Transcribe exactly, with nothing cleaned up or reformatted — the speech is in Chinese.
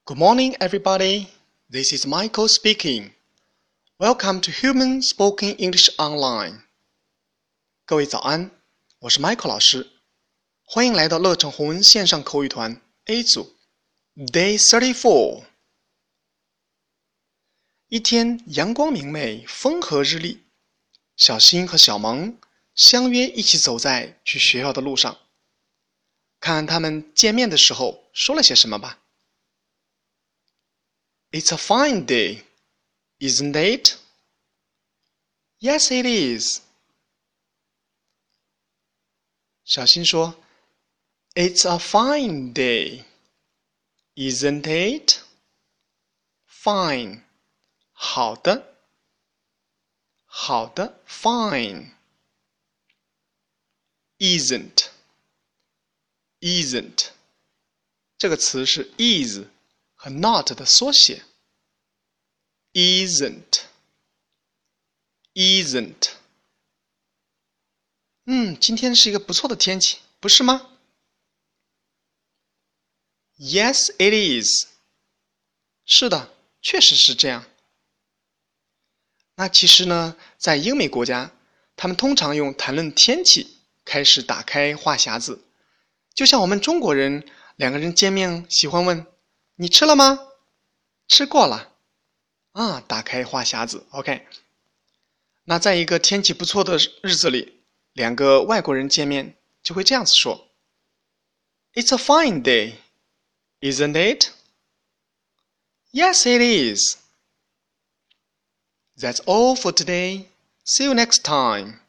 Good morning, everybody. This is Michael speaking. Welcome to Human Spoken English Online. 各位早安，我是 Michael 老师，欢迎来到乐成红文线上口语团 A 组 Day thirty-four。一天阳光明媚，风和日丽，小新和小萌相约一起走在去学校的路上。看看他们见面的时候说了些什么吧。It's a fine day, isn't it? Yes, it is. 小新说 It's a fine day, isn't it? Fine. 好的。好的 Fine. Isn't. Isn't. 这个词是 is 和 not 的缩写。Isn't. Isn't. 嗯，今天是一个不错的天气，不是吗？ Yes, it is. 是的，确实是这样。那其实呢，在英美国家，他们通常用谈论天气开始打开话匣子，就像我们中国人两个人见面喜欢问你吃了吗？吃过了啊，打开话匣子 OK。 那在一个天气不错的日子里，两个外国人见面就会这样子说 It's a fine day, isn't it? Yes, it is. That's all for today. See you next time.